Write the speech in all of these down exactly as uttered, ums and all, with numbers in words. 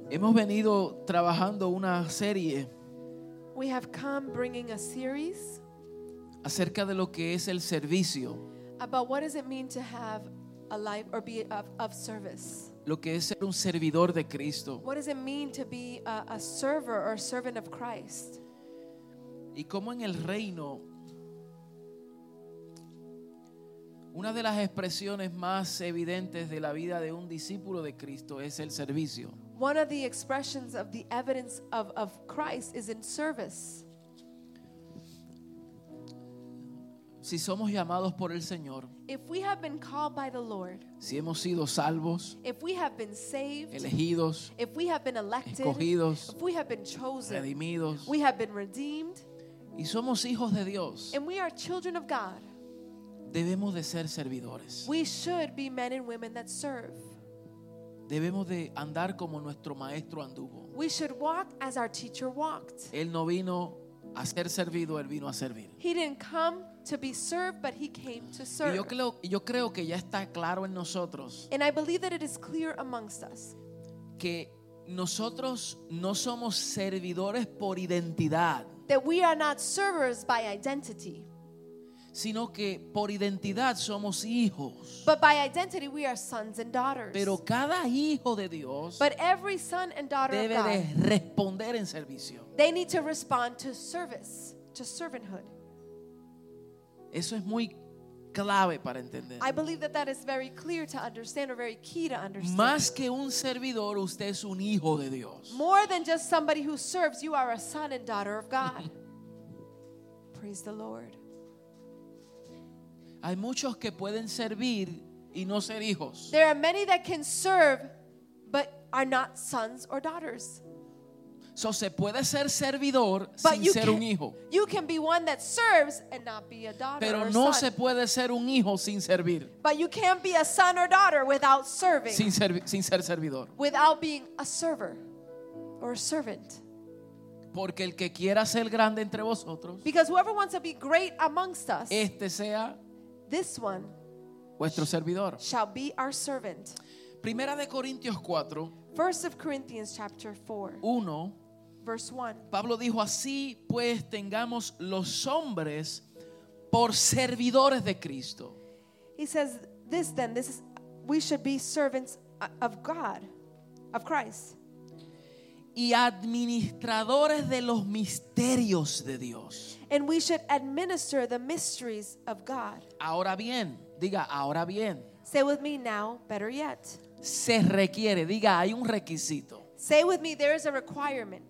Hemos venido trabajando una serie We have come bringing a series acerca de lo que es el servicio, about what does it mean to have a life or be of, of service. lo que es ser un servidor de Cristo What does it mean to be a, a server or a servant of Christ? y cómo en el reino una de las expresiones más evidentes de la vida de un discípulo de Cristo es el servicio. One of the expressions of the evidence of, of Christ is in service. Si somos llamados por el Señor, If we have been called by the Lord, si hemos sido salvos, if we have been saved, elegidos, if we have been elected, escogidos, if we have been chosen, redimidos we have been redeemed, y somos hijos de Dios, and we are children of God, debemos de ser servidores. we should be men and women that serve. Debemos de andar como nuestro maestro anduvo. We should walk as our teacher walked. Él no vino a ser servido, él vino a servir. He didn't come to be served, but he came to Y serve. yo creo, yo creo que ya está claro en nosotros And I believe that it is clear amongst us que nosotros no somos servidores por identidad, that we are not servers by identity, sino que por identidad somos hijos. but by identity we are sons and daughters. Pero cada hijo de Dios But every son and daughter of debe God, de responder en servicio. they need to respond to service, to servanthood. Eso es muy clave para entender. I believe that that is very clear to understand, or very key to understand. Más que un servidor, usted es un hijo de Dios. More than just somebody who serves, you are a son and daughter of God. Praise the Lord. Hay muchos que pueden servir y no ser hijos. There are many that can serve but are not sons or daughters. So, se puede ser servidor But sin you ser un can, hijo. you can be one that serves and not be a daughter Pero or no son. se puede ser un hijo sin servir, But you can't be a son or daughter without serving, sin, servi- sin ser servidor. without being a server or a servant. Porque el que quiera ser grande entre vosotros, Because whoever wants to be great amongst us, este sea this one vuestro servidor. shall be our servant. Primera de Corintios cuatro, First of Corinthians chapter four, uno, verse one. Pablo dijo: así pues tengamos los hombres por servidores de Cristo. He says this then, this is, we should be servants of God, of Christ, Y administradores de los misterios de Dios. and we should administer the mysteries of God. Ahora bien, diga, ahora bien, Say with me now, better yet. se requiere, diga, hay un requisito. Say with me, there is a requirement.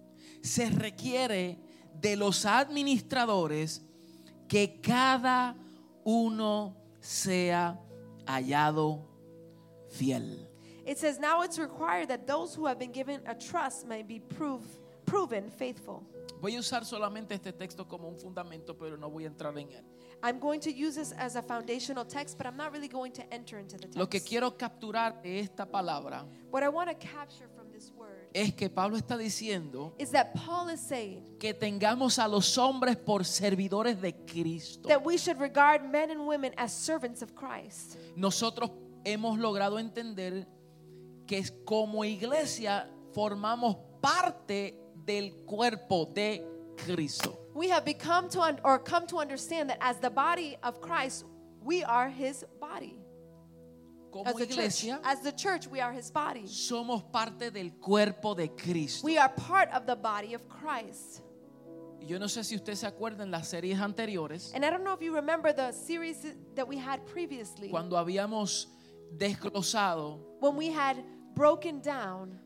Se requiere de los administradores que cada uno sea hallado fiel. It says now it's required that those who have been given a trust may be prove, proven faithful. Voy a usar solamente este texto como un fundamento, pero no voy a entrar en él. I'm going to use this as a foundational text, but I'm not really going to enter into the text. Lo que quiero capturar de esta palabra What I want to capture from this word es que Pablo está diciendo is that Paul is saying que tengamos a los hombres por servidores de Cristo. that we should regard men and women as servants of Christ. Nosotros hemos logrado entender que como iglesia formamos parte del cuerpo de Cristo. We have become to un- or come to understand that as the body of Christ, we are his body. Como As the church, iglesia as the church, we are his body. somos parte del cuerpo de Cristo. We are part of the body of Christ. Y yo no sé si usted se acuerda en las series anteriores, And I don't know if you remember the series that we had previously, cuando habíamos desglosado when we had broken down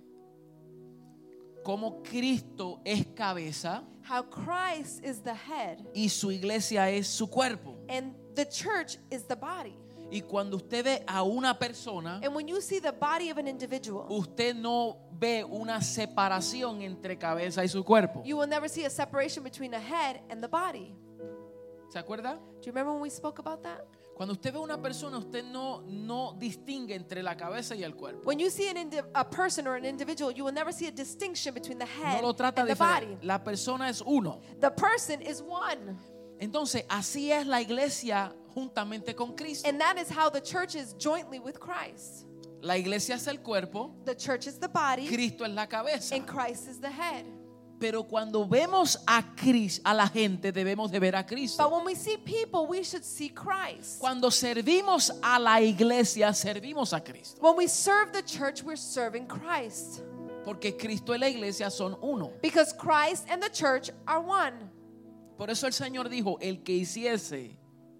cómo Cristo es cabeza how Christ is the head y su iglesia es su cuerpo. and the church is the body. Y cuando usted ve a una persona, And when you see the body of an individual, usted no ve una separación entre cabeza y su cuerpo. you will never see a separation between the head and the body. ¿Se acuerda? Do you remember when we spoke about that? Cuando usted ve a una persona, usted no, no distingue entre la cabeza y el cuerpo. When you see an indi- a person or an individual, you will never see a distinction between the No head lo trata and the body. diferente. La persona es uno. The person is one. Entonces, así es la iglesia juntamente con Cristo. And that is how the church is jointly with Christ. La iglesia es el cuerpo, The church is the body, Cristo es la cabeza. and Christ is the head. Pero cuando vemos a Cristo, a la gente, debemos de ver a But Cristo. when we see people, we should see Christ. Cuando servimos a la iglesia, servimos a Cristo. When we serve the church, we're serving Christ. Porque Cristo y la iglesia son uno. Because Christ and the church are one. Por eso el Señor dijo, el que hiciese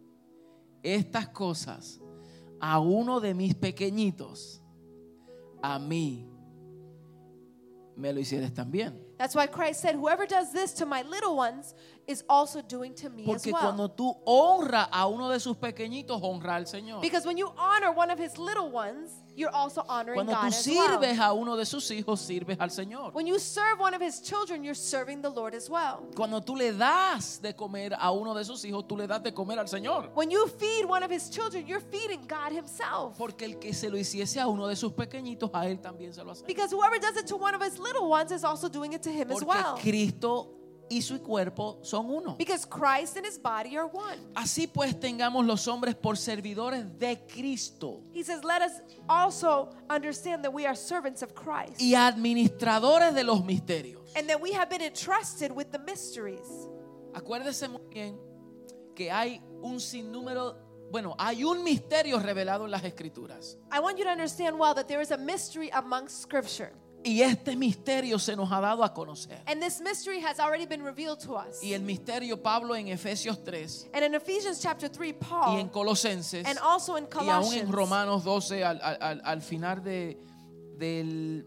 estas cosas a uno de mis pequeñitos, a mí me lo hicieres también. That's why Christ said, whoever does this to my little ones is also doing to me as Porque well. cuando tú honras a uno de sus pequeñitos, honra al Señor. Because when you honor one of his little ones, you're also honoring Cuando God tú as well. sirves a uno de sus hijos, sirves al Señor. When you serve one of his children, you're serving the Lord as well. Cuando tú le das de comer a uno de sus hijos, tú le das de comer al Señor. When you feed one of his children, you're feeding God himself. Porque el que se lo hiciese a uno de sus pequeñitos, a él también se lo hace. Because whoever does it to one of his little ones is also doing it to him as Porque well. Cristo y su cuerpo son uno. Because Christ and his body are one. Así pues tengamos los hombres por servidores de Cristo He says, let us also understand that we are servants of Christ. y administradores de los misterios. And that we have been entrusted with the mysteries. Acuérdese muy bien que hay un sinnúmero, bueno, hay un misterio revelado en las Escrituras. I want you to understand well that there is a mystery amongst Scripture. Y este misterio se nos ha dado a conocer. And this mystery has already been revealed to us. Y el misterio Pablo en Efesios tres And in Ephesians chapter three, y Paul, en Colosenses and also in y aún en Colossians, Romanos doce al, al- al- al final de, del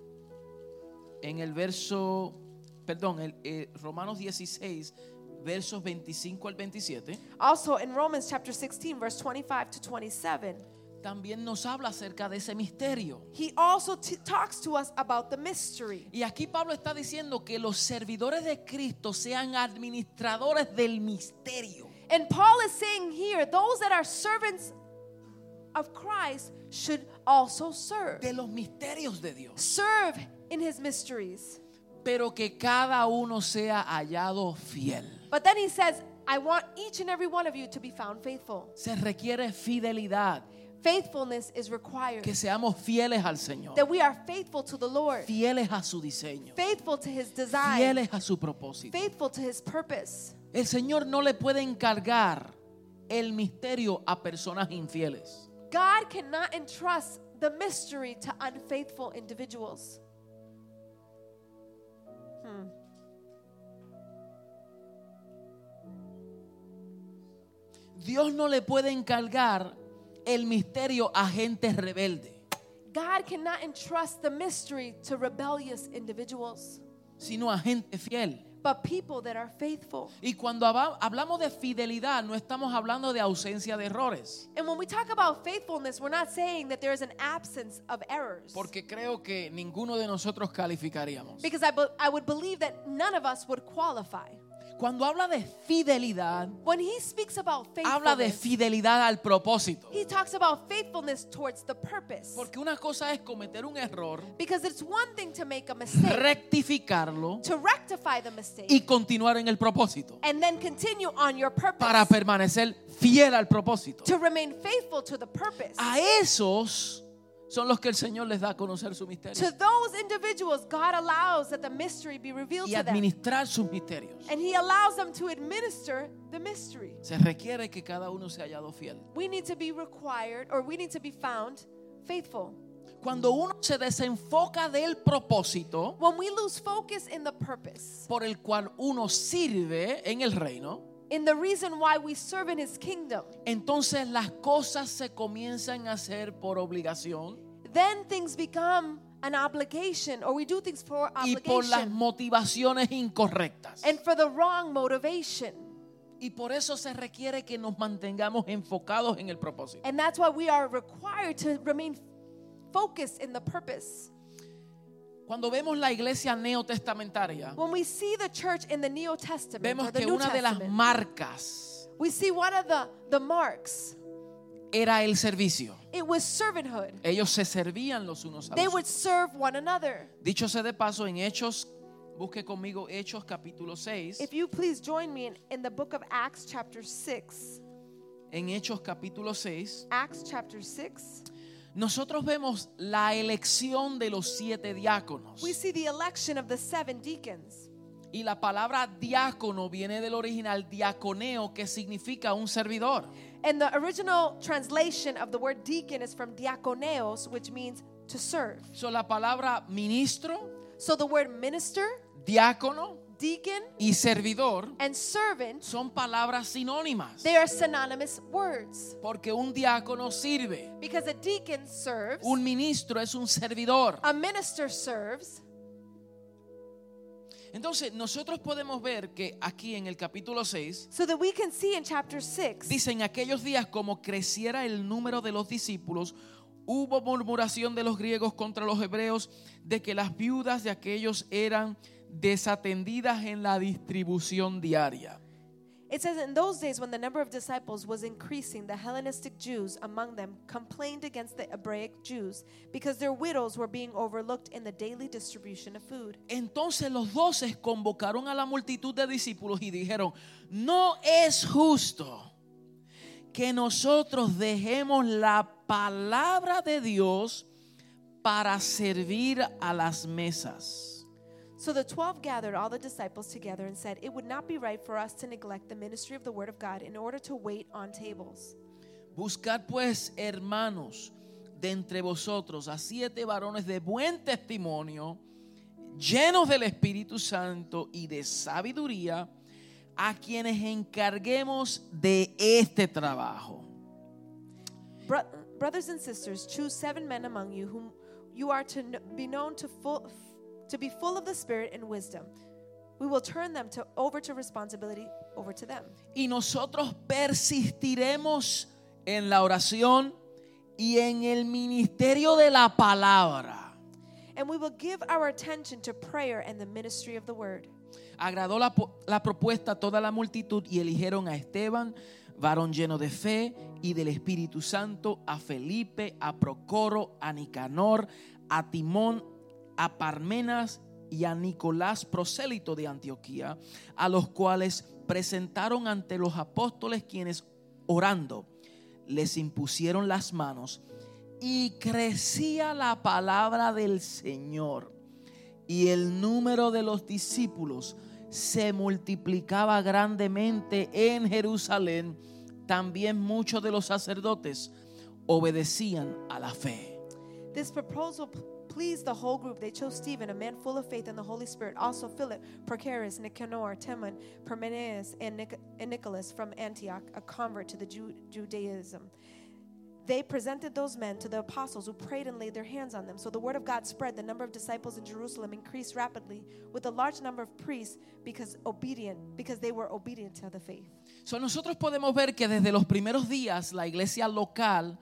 en el verso, perdón, el, eh, Romanos dieciséis versos veinticinco al veintisiete, also in Romans chapter sixteen, verse twenty-five to twenty-seven, también nos habla acerca de ese misterio. he also t- talks to us about the mystery. Y aquí Pablo está diciendo que los servidores de Cristo sean administradores del misterio. And Paul is saying here, those that are servants of Christ should also serve. De los misterios de Dios. Serve in his mysteries. Pero que cada uno sea hallado fiel. But then he says, I want each and every one of you to be found faithful. Se requiere fidelidad. Faithfulness is required. Que seamos fieles al Señor. That we are faithful to the Lord. Fieles a su diseño. Faithful to his design. Fieles a su propósito. Faithful to his purpose. El Señor no le puede encargar el misterio a personas infieles. God cannot entrust the mystery to unfaithful individuals. Hmm. Dios no le puede encargar el misterio a gente rebelde. God cannot entrust the mystery to rebellious individuals, Sino a gente fiel. but people that are faithful. Y cuando hab- hablamos de fidelidad, no estamos hablando de ausencia de errores. And when we talk about faithfulness, we're not saying that there is an absence of errors. Porque creo que ninguno de nosotros calificaríamos. Because I, be- I would believe that none of us would qualify. Cuando habla de fidelidad, When he speaks about habla de faithfulness, fidelidad al propósito. he talks about faithfulness towards the purpose. Porque una cosa es cometer un error, Because it's one thing to make a mistake, rectificarlo to rectify the mistake, y continuar en el propósito. and then continue on your purpose, Para permanecer fiel al propósito. to remain faithful to the purpose. A esos son los que el Señor les da a conocer su misterio. To those individuals, God allows that the mystery be revealed Y to them. administrar sus misterios. And he allows them to administer the mystery. Se requiere que cada uno sea hallado fiel. We need to be required, or we need to be found faithful. Cuando uno se desenfoca del propósito When we lose focus in the purpose, por el cual uno sirve en el reino, in the reason why we serve in his kingdom, entonces las cosas se comienzan a hacer por obligación then things become an obligation, or we do things for y por las obligation motivaciones incorrectas. and for the wrong motivation. Y por eso se requiere que nos mantengamos enfocados en el propósito. And that's why we are required to remain focused in the purpose. Cuando vemos la iglesia neotestamentaria, When we see the church in the New Testament, vemos or the que New una de las Testament, marcas we see one of the, the marks. era el servicio. It was servanthood. Ellos se servían los unos a They los would otros. serve one another. Dicho sea de paso, en Hechos, busque conmigo Hechos capítulo seis. If you please join me in, in the book of Acts chapter six. En Hechos capítulo seis Acts chapter six. nosotros vemos la elección de los siete diáconos. we see the election of the seven deacons. Y la palabra diácono viene del original diaconeo, que significa un servidor. And the original translation of the word deacon is from diakoneos, which means to serve. So, la palabra ministro, So the word minister, diácono deacon, y servidor and servant, son palabras sinónimas. they are synonymous words. Porque un diácono sirve, Because a deacon serves, un ministro es un servidor. a minister serves. Entonces nosotros podemos ver que aquí en el capítulo seis So that we can see in chapter six, dice: en aquellos días, como creciera el número de los discípulos, hubo murmuración de los griegos contra los hebreos de que las viudas de aquellos eran desatendidas en la distribución diaria. it says, in those days when the number of disciples was increasing, the Hellenistic Jews among them complained against the Hebraic Jews because their widows were being overlooked in the daily distribution of food. Entonces los doce convocaron a la multitud de discípulos y dijeron: no es justo que nosotros dejemos la palabra de Dios para servir a las mesas. So the twelve gathered all the disciples together and said, it would not be right for us to neglect the ministry of the word of God in order to wait on tables. Buscad pues, hermanos, de entre vosotros a siete varones de buen testimonio, llenos del Espíritu Santo y de sabiduría, a quienes encarguemos de este trabajo. Bro- brothers and sisters, choose seven men among you whom you are to kn- be known to full to be full of the Spirit and wisdom. We will turn them to, over to responsibility over to them. Y nosotros persistiremos en la oración y en el ministerio de la palabra. And we will give our attention to prayer and the ministry of the word. Agradó la, la propuesta a toda la multitud y eligieron a Esteban, varón lleno de fe y del Espíritu Santo, a Felipe, a Procoro, a Nicanor, a Timón, a Parmenas y a Nicolás, prosélito de Antioquía, a los cuales presentaron ante los apóstoles, quienes orando les impusieron las manos, y crecía la palabra del Señor, y el número de los discípulos se multiplicaba grandemente en Jerusalén. También muchos de los sacerdotes obedecían a la fe. This proposal p- pleased the whole group. They chose Stephen, a man full of faith in the Holy Spirit, also Philip, Prochorus, Nicanor, Timon, Parmenas, and, Nic- and Nicholas from Antioch, a convert to the Ju- Judaism. They presented those men to the apostles, who prayed and laid their hands on them. So the word of God spread. The number of disciples in Jerusalem increased rapidly, with a large number of priests because obedient, because they were obedient to the faith. So, nosotros podemos ver que desde los primeros días la iglesia local,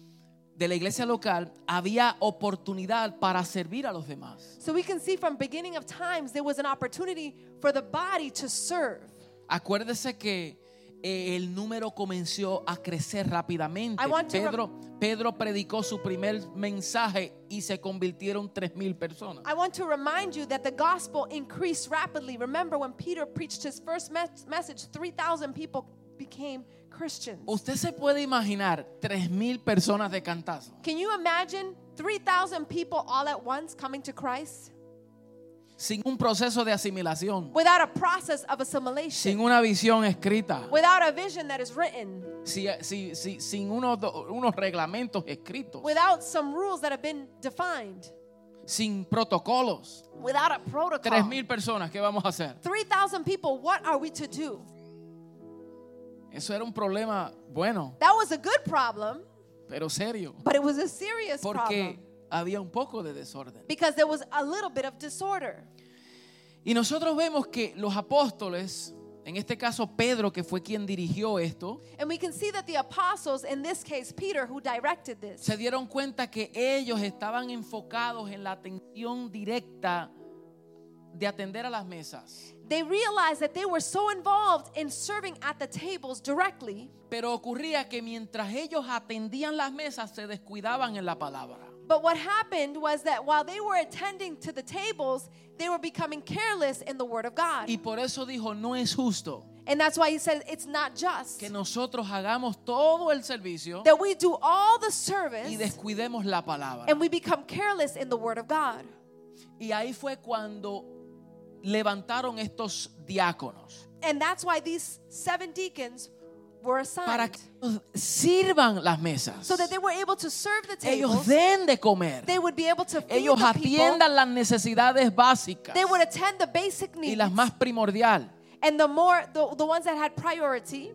de la iglesia local, había oportunidad para servir a los demás. So we can see from beginning of times there was an opportunity for the body to serve. Acuérdese que eh, el número comenzó a crecer rápidamente. I want to Pedro, Pedro predicó su primer mensaje y se convirtieron tres mil personas. I want to remind you that the gospel increased rapidly. Remember when Peter preached his first mes- message, three thousand people became Christians. Usted se puede imaginar tres mil personas de cantazo. Can you imagine three thousand people all at once coming to Christ? Sin un proceso de asimilación, Without a process of assimilation. sin una visión escrita, Without a vision that is written. si, si, si, sin unos, unos reglamentos escritos, Without some rules that have been defined. sin protocolos. Without a Tres protocol. mil personas, ¿qué vamos a hacer? three thousand people, what are we to do? Eso era un problema bueno, That was a good problem, pero serio, but it was a serious problem. porque había un poco de desorden. Because there was a little bit of disorder. Y nosotros vemos que los apóstoles, en este caso Pedro, que fue quien dirigió esto, And we can see that the apostles, in this case Peter, who directed this, se dieron cuenta que ellos estaban enfocados en la atención directa de atender a las mesas. they realized that they were so involved in serving at the tables directly, Pero ocurría que mientras ellos atendían las mesas, se descuidaban en la palabra. but what happened was that while they were attending to the tables, they were becoming careless in the word of God. Y por eso dijo: no es justo And that's why he said it's not just que nosotros hagamos todo el servicio that we do all the y service descuidemos la palabra. and we become careless in the word of God. Y ahí fue cuando levantaron estos diáconos And that's why these seven deacons were para assigned, que nos sirvan las mesas. so that they were able to serve the Ellos tables. den de comer. They would be able to feed Ellos the people. atiendan las necesidades básicas They would attend the basic y needs. las más primordial. And the more, the, the ones that had priority,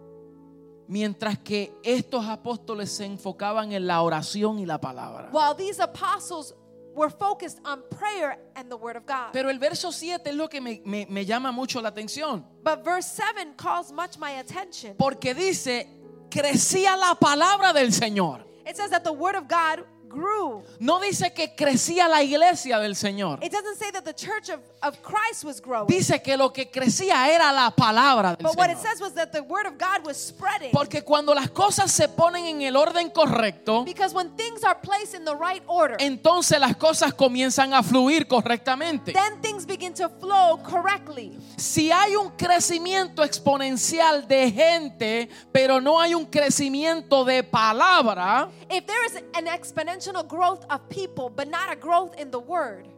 Mientras que estos apóstoles se enfocaban en la oración y la palabra. while these apostles were focused on prayer and the word of God. Pero el verso siete es lo que me, me- me llama mucho la atención. But verse seven calls much my attention. Porque dice, crecía la palabra del Señor. It says that the word of God grew. No dice que crecía la iglesia del Señor. It doesn't say that the church of, of Christ was growing. Dice que lo que crecía era la palabra del But what it Señor. says was that the word of God was spreading. Porque cuando las cosas se ponen en el orden correcto, Because when things are placed in the right order, entonces las cosas comienzan a fluir correctamente. then things begin to flow correctly. Si hay un crecimiento exponencial de gente, pero no hay un crecimiento de palabra, If there is an exponential growth of people, but not a growth in the word,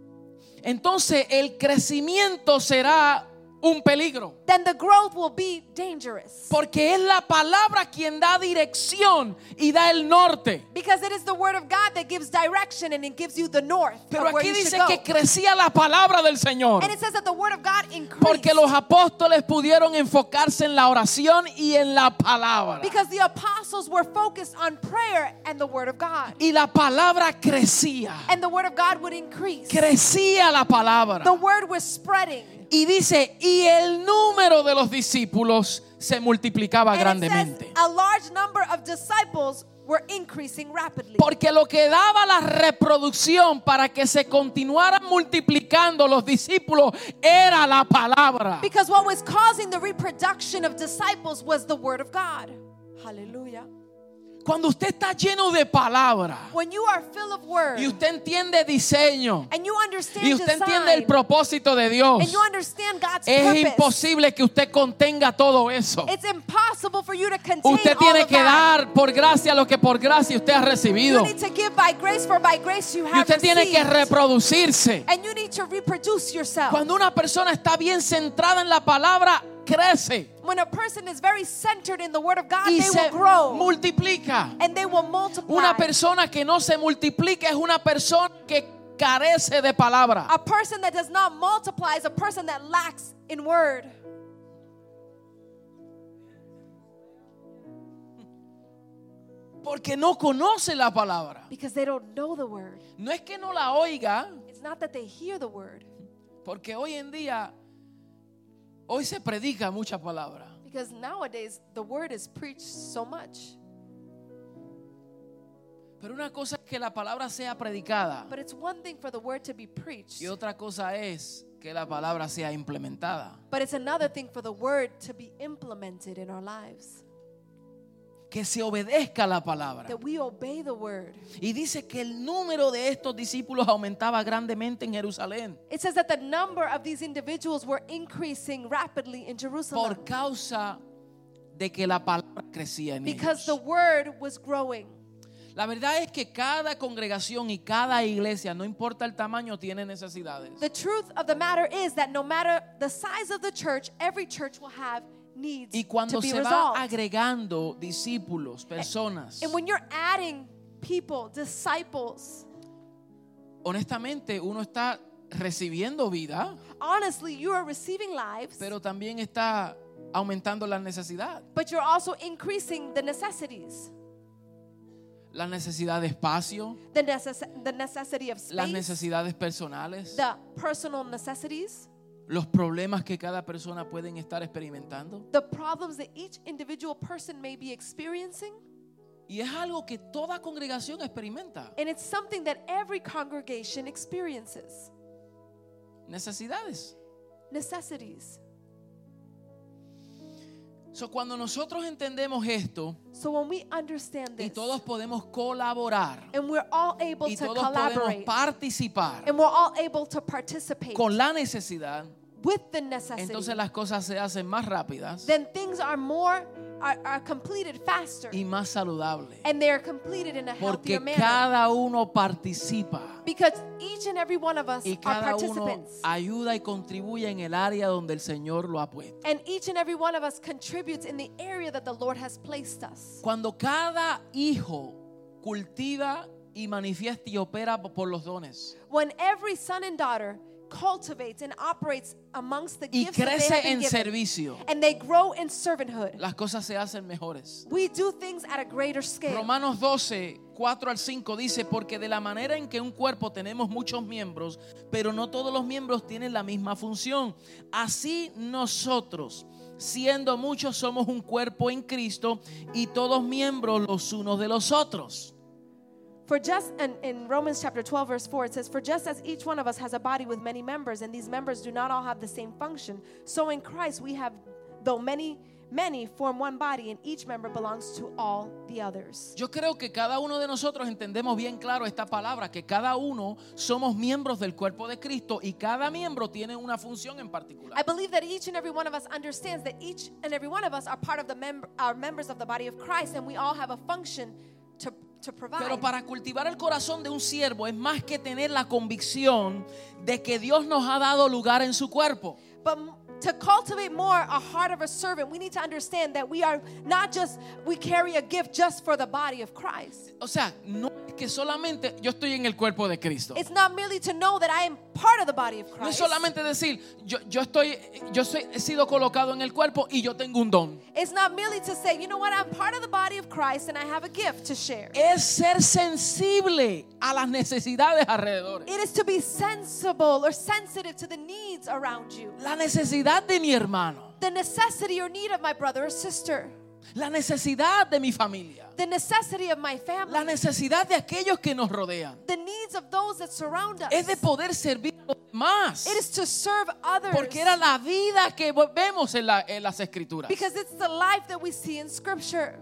entonces el crecimiento será un peligro. then the growth will be dangerous. Porque es la palabra quien da dirección y da el norte. Because it is the word of God that gives direction and it gives you the north Pero of where aquí you dice should go. que crecía la palabra del Señor. And it says that the word of God increased. Porque los apóstoles pudieron enfocarse en la oración y en la palabra. Because the apostles were focused on prayer and the word of God. Y la palabra crecía. And the word of God would increase. Crecía la palabra. The word was spreading. Y dice, y el número de los discípulos se multiplicaba And it says grandemente. a large number of disciples were increasing rapidly. Porque lo que daba la reproducción para que se continuaran multiplicando los discípulos era la palabra. Because what was causing the reproduction of disciples was the word of God. Hallelujah. Cuando usted está lleno de palabra When you are full of word y usted entiende diseño and you understand y usted design entiende el propósito de Dios, and you understand God's es purpose, imposible que usted contenga todo eso. it's impossible for you to contain Usted all tiene of que that. dar por gracia lo que por gracia usted ha You recibido. need to give by grace, for by grace you Y have usted tiene que received. reproducirse. And you need to reproduce yourself. Cuando una persona está bien centrada en la palabra, crece When a person is very centered in the word of God, y they se will grow multiplica. and they will multiply. Una persona que no se multiplica es una persona que carece de palabra. A person that does not multiply is a person that lacks in word. Porque no conoce la palabra. Because they don't know the word. No es que no la oiga, It's not that they hear the word. porque hoy en día, hoy se predica mucha palabra. Because nowadays the word is preached so much. Pero una cosa es que la palabra sea predicada But it's one thing for the word to be preached. y otra cosa es que la palabra sea implementada. But it's another thing for the word to be implemented in our lives. Que se obedezca la palabra. That we obey the word. Y dice que el número de estos discípulos aumentaba grandemente en Jerusalén It says that the number of these individuals were increasing rapidly in Jerusalem. por causa de que la palabra crecía en Because the ellos. word was growing. La verdad es que cada congregación y cada iglesia, no importa el tamaño, tiene necesidades. The truth of the matter is that no matter the size of the church, every church will have needs Y cuando to be se va resolved. agregando discípulos, personas, And when you're adding people, disciples, honestamente uno está recibiendo vida, honestly, you are receiving lives, pero también está aumentando la necesidad. but you're also increasing the necessities. La necesidad de espacio, The, necess- the necessity of las space, necesidades personales, the personal necessities, los problemas que cada persona pueden estar experimentando. the problems that each individual person may be experiencing. Y es algo que toda congregación experimenta. And it's something that every congregation experiences. Necesidades. Necessities. So, cuando nosotros entendemos esto So when we understand y this, todos podemos colaborar and we're all able y to todos podemos collaborate, participar and we're all able to participate con la necesidad, with the necessity, entonces las cosas se hacen más rápidas then things are more are, are completed faster, y más saludables. and they are completed in a Porque healthier manner. cada uno participa Because each and every one of us y are cada uno participants. ayuda y contribuye en el área donde el Señor lo ha puesto. And each and every one of us contributes in the area that the Lord has placed us. Cuando cada hijo cultiva y manifiesta y opera por los dones When every son and daughter cultivates and operates amongst the y gifts that they have crece been en given, servicio, and they grow in servanthood, las cosas se hacen mejores. we do things at a greater scale. Romanos doce, cuatro al cinco dice: porque de la manera en que un cuerpo tenemos muchos miembros, pero no todos los miembros tienen la misma función. Así nosotros, siendo muchos, somos un cuerpo en Cristo y todos miembros los unos de los otros. For just in, in Romans chapter twelve verse four it says, for just as each one of us has a body with many members, and these members do not all have the same function, so in Christ we have, though many many form one body, and each member belongs to all the others. Yo creo que cada uno de nosotros entendemos bien claro esta palabra, que cada uno somos miembros del cuerpo de Cristo y cada miembro tiene una función en particular. I believe that each and every one of us understands that each and every one of us are part of the member, are members of the body of Christ, and we all have a function to to provide. Pero para cultivar el corazón de un siervo es más que tener la convicción de que Dios nos ha dado lugar en su cuerpo. But to cultivate more a heart of a servant, we need to understand that we are not just, we carry a gift just for the body of Christ. O sea, no es que solamente yo estoy en el cuerpo de Cristo. It's not merely to know that I am part of the body of No es Christ. solamente decir yo, yo estoy, yo soy, he sido colocado en el cuerpo y yo tengo un don. It's not merely to say, you know what, I'm part of the body of Christ and I have a gift to share. Es ser sensible a las necesidades alrededor. It is to be sensible or sensitive to the needs around you. La necesidad de mi hermano, The necessity or need of my brother or sister. la necesidad de mi familia, The necessity of my family. la necesidad de aquellos que nos rodean. The needs of those that surround us. Es de poder servir a los demás. It is to serve others. Porque era la vida que vemos en, la, en las escrituras. Because it's the life that we see in Scripture.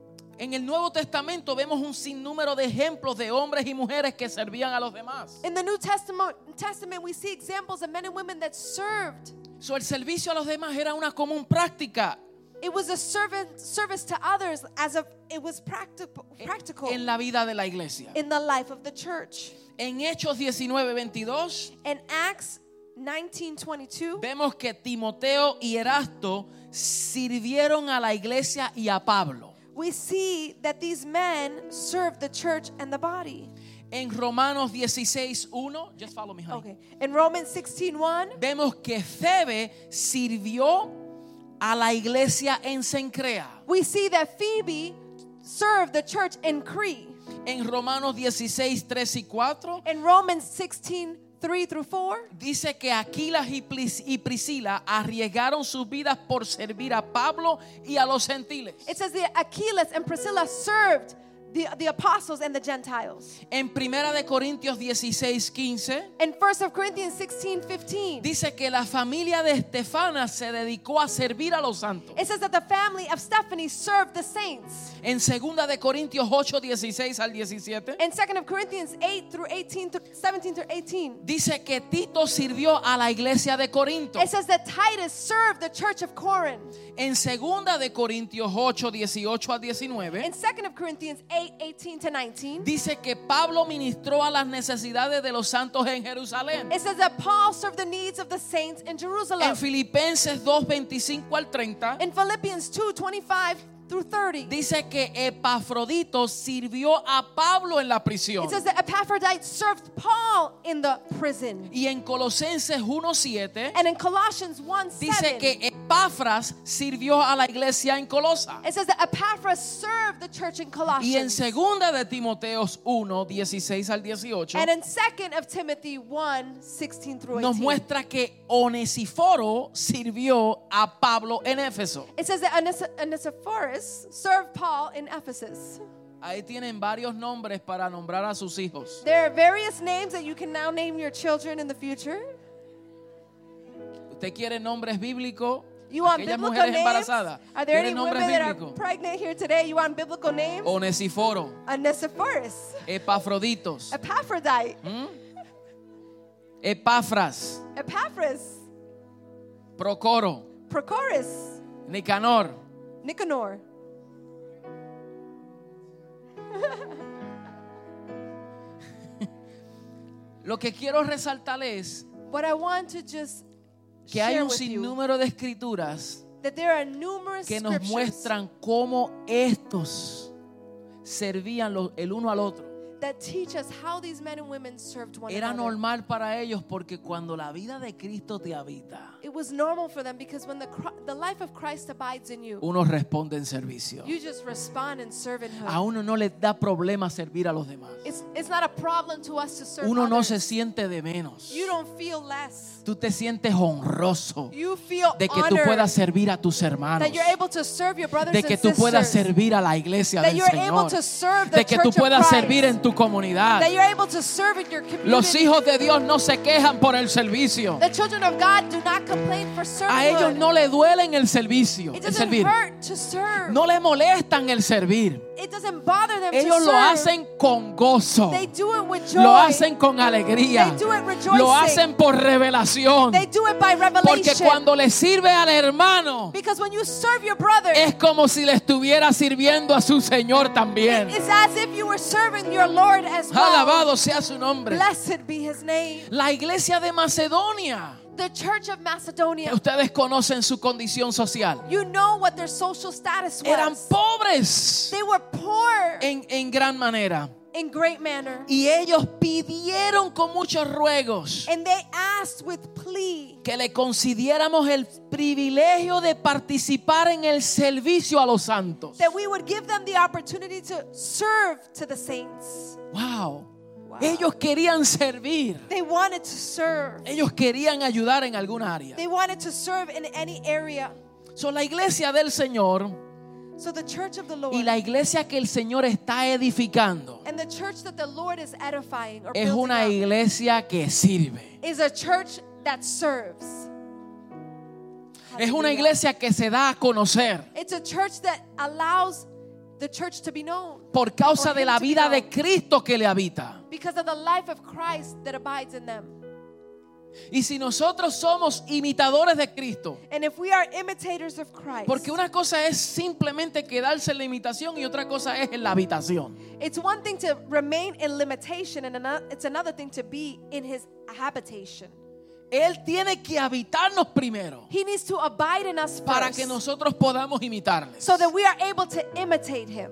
En el Nuevo Testamento vemos un sinnúmero de ejemplos de hombres y mujeres que servían a los demás. In the New Testament, Testament, we see examples of men and women that served. So, el servicio a los demás era una común práctica It was a servant service to others as a it was practi- practical en la vida de la iglesia. in the life of the church. En Hechos diecinueve veintidós In Acts nineteen twenty-two, vemos que Timoteo y Erasto sirvieron a la iglesia y a Pablo. we see that these men served the church and the body. En Romanos dieciséis uno, just follow me, honey. Okay. In Romans sixteen one, Vemos que Febe sirvió a la iglesia en Cencrea. we see that Phoebe served the church in Crete. En Romanos dieciséis tres y cuatro In Romans sixteen three through four, dice que Aquilas y Pris- y Priscila arriesgaron sus vidas por servir a Pablo y a los gentiles. it says that Achilles and Priscilla served the, the apostles and the Gentiles. En Primera de Corintios dieciséis quince In First of Corinthians sixteen fifteen, dice que la familia de Estefana se dedicó a servir a los santos. it says that the family of Stephanie served the saints. En Segunda de Corintios ocho dieciséis al diecisiete In Second of Corinthians eight through eighteen through seventeen through eighteen, dice que Tito sirvió a la iglesia de Corinto. it says that Titus served the church of Corinth. En Segunda de Corintios ocho dieciocho al diecinueve In Second of Corinthians eight eighteen to nineteen, dice que Pablo ministró a las necesidades de los santos en Jerusalén. it says that Paul served the needs of the saints in Jerusalem. En Filipenses dos veinticinco al treinta In Philippians two twenty-five through thirty, dice que Epafrodito sirvió a Pablo en la prisión. it says that Epaphroditus served Paul in the prison. Y en Colosenses uno siete And in Colossians one dice seven, que Epafras sirvió a la iglesia en Colosa. it says that Epaphras served the church in Y en Colossians. Segunda de Timoteos uno dieciséis al dieciocho And in Second of Timothy one sixteen through nos eighteen, muestra que Onesíforo sirvió a Pablo en Éfeso. it says that Ones- Onesiphorus served Paul in Ephesus. Ahí tienen varios nombres para nombrar a sus hijos. There are various names that you can now name your children in the future. ¿Usted quiere nombres bíblicos? You want Aquellas biblical mujeres names? embarazadas. Are there any ¿Quieren nombres women that are bíblicos? pregnant here today? You want biblical names? Onesíforo, Onesiphorus, Epafroditos, Epaphrodite, Epafras, Epaphras, Procoro, Prochorus, Nicanor. Nicanor. Lo que quiero resaltar es What I want to just que hay share un with you, sinnúmero de escrituras that there are numerous que nos scriptures muestran cómo estos servían lo- el uno al otro. that teach us how these men and women served one Era another. normal para ellos porque cuando la vida de Cristo te habita, It was normal for them because when the Chri- the life of Christ abides in you, uno responde en servicio. you just respond in servanthood. A uno no le da problema servir a los demás. It's it's not a problem to us to serve Uno no others. se siente de menos. You don't feel less. Tú te sientes honroso You feel de que tú honored puedas servir a tus hermanos, that you're able to serve your brothers de que and tú puedas sisters. servir a la iglesia That del you're able Señor, to serve the de que tú church of puedas Christ. servir en tu comunidad. That you're able to serve in your community. Los hijos de Dios no se quejan por el servicio. The children of God do not complain for A ellos servanthood. no le duelen el servicio, It el doesn't servir. hurt to serve. No le molestan el servir. It doesn't bother them Ellos to lo serve. hacen con gozo. They do it with joy. Lo hacen con alegría. They do it rejoicing. Lo hacen por revelación. They do it by revelation. Porque cuando le sirve al hermano, Because when you serve your brother, es como si le estuviera sirviendo a su Señor también. it's as if you were serving your Lord as well. Alabado sea su nombre. Blessed be his name. La iglesia de Macedonia. The church of Macedonia, Ustedes conocen su condición social. you know what their social status was. Eran pobres They were poor en, en gran manera. in great manner. Y ellos pidieron con muchos ruegos And they asked with plea que le concediéramos el privilegio de participar en el servicio a los santos. that we would give them the opportunity to serve to the saints. Wow. Wow. Ellos querían servir. They wanted to serve. Ellos querían ayudar en alguna área. They wanted to serve in any area. So, la iglesia del Señor So the church of the Lord y la iglesia que el Señor está edificando and the church that the Lord is edifying or es building una up iglesia que sirve. is a church that serves. Es una Hallelujah. iglesia que se da a conocer It's a church that allows the church to be known por causa For de him la to be vida de known. Cristo que le habita. because of the life of Christ that abides in them. Y si nosotros somos imitadores de Cristo, And if we are imitators of Christ, porque una cosa es simplemente quedarse en la imitación y otra cosa es en la habitación. it's one thing to remain in limitation and ano- it's another thing to be in his habitation. Él tiene que habitarnos primero He needs to abide in us para first que nosotros podamos imitarles. so that we are able to imitate him.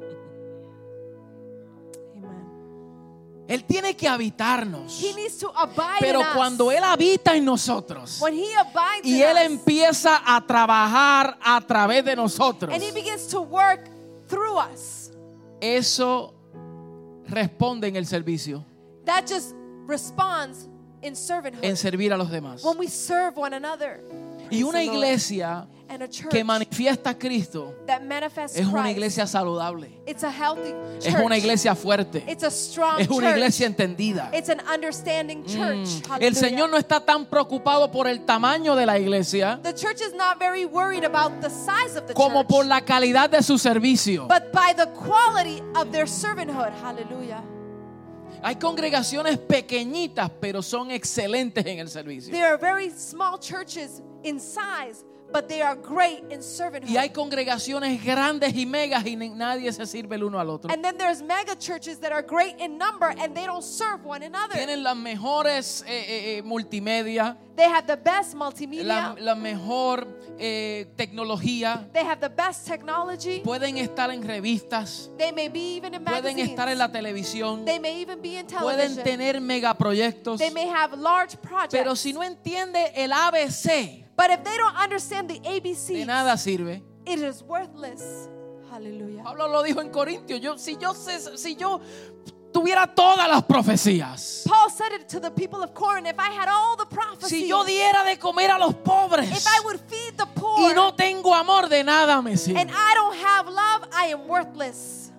Amen. Él tiene que habitarnos. He needs to abide Pero in us. cuando Él habita en nosotros When he abides y in Él us empieza a trabajar a través de nosotros, and he begins to work through us, eso responde en el servicio, that just responds in servanthood. en servir a los demás. When we serve one another. Y Praise una the Lord. iglesia And a church que manifiesta a Cristo that manifests es una Christ. iglesia saludable, It's a healthy es church. una iglesia fuerte, It's a strong es una church. iglesia entendida. It's an understanding church. Mm. El Hallelujah. Señor no está tan preocupado por el tamaño de la iglesia The church is not very worried about the size of the como church, por la calidad de su servicio. but by the quality of their servanthood. Hallelujah. Hay congregaciones pequeñitas, pero son excelentes en el servicio. There are very small churches in size, but they are great in servanthood. Y hay congregaciones grandes y megas y ni- nadie se sirve el uno al otro. And then there's mega churches that are great in number and they don't serve one another. Tienen las mejores eh, eh, eh, multimedia, They have the best multimedia. la, la mejor eh, tecnología. They have the best technology. Pueden estar en revistas, They may be even in pueden magazines. estar en la televisión, They may even be in pueden television. tener megaproyectos. They may have large projects. Pero si no entiende el A B C, But if they don't understand the A B de Cs, nada sirve. it is worthless. Hallelujah. Pablo lo dijo en Corintios. Yo, si yo sé- si yo tuviera todas las profecías, Paul said it to the people of Corinth. If I had all the prophecies, si yo diera de comer a los pobres if I would feed the poor, y no tengo amor, de nada me sirve. and I don't have love, I am worthless.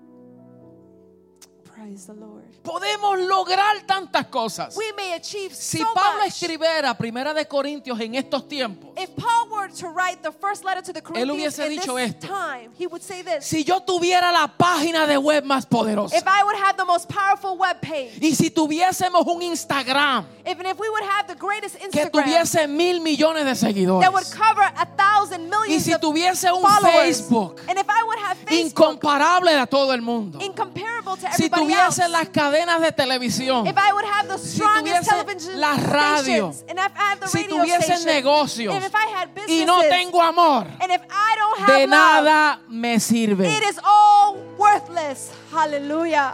Praise the Lord. Podemos lograr tantas cosas. We may achieve Si so Pablo much. escribiera Primera de Corintios en estos tiempos, If Paul were were to write the first letter to the Él Corinthians hubiese in dicho this esto. time, he would say this. Si yo tuviera la página de web más poderosa, If I would have the most powerful web page, y si tuviésemos un Instagram even if we would have the greatest que Instagram tuviese mil millones de seguidores, that would cover a thousand y millions si of tuviese un followers, Facebook and if I would have Facebook incomparable a todo el mundo, incomparable to si everybody else, tuviese las cadenas de televisión, if I would have the si strongest tuviese television la radio, stations, and if I had the si radio tuviese station, negocios and if I had y no businesses, tengo amor, and if I don't de have love, nada me sirve. it is all worthless. Hallelujah.